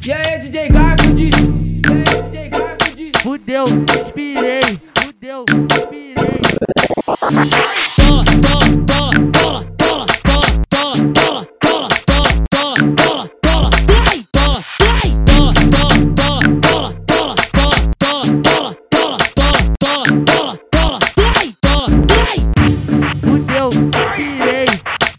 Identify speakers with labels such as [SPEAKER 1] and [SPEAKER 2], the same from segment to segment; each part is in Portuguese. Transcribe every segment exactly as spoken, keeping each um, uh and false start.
[SPEAKER 1] E aí, D J Garfield? E aí, D J Garfield?
[SPEAKER 2] Fudeu, inspirei. Fudeu, inspirei. Fudeu, inspirei.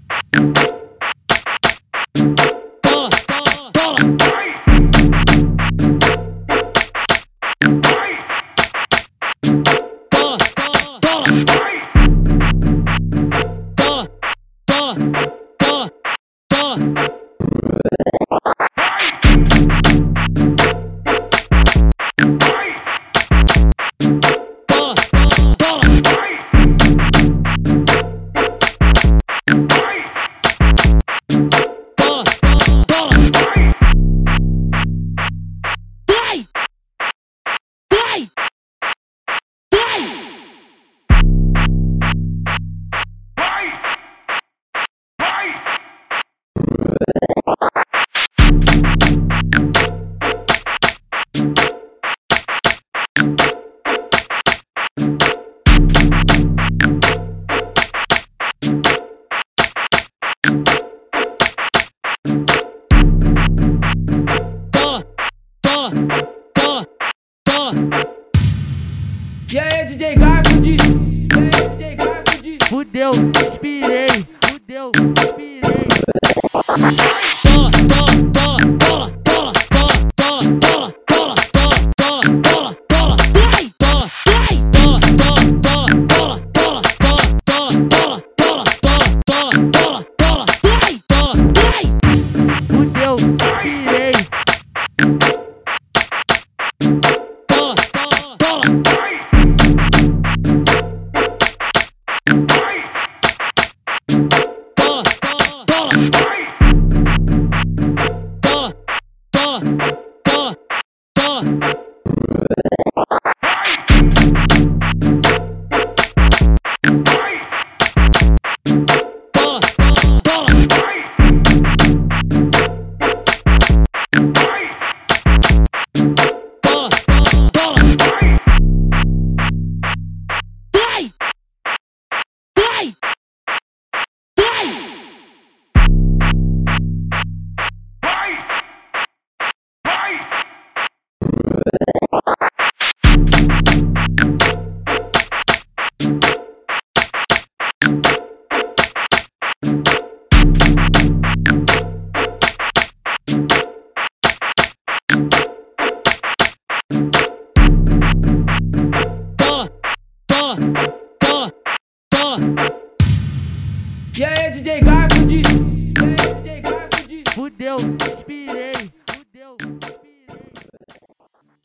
[SPEAKER 1] E aí, D J Garfield? E aí, D J Garfield?
[SPEAKER 2] Fudeu, inspirei. Fudeu, inspirei. Fudeu, inspirei. E aí, D J Garfield?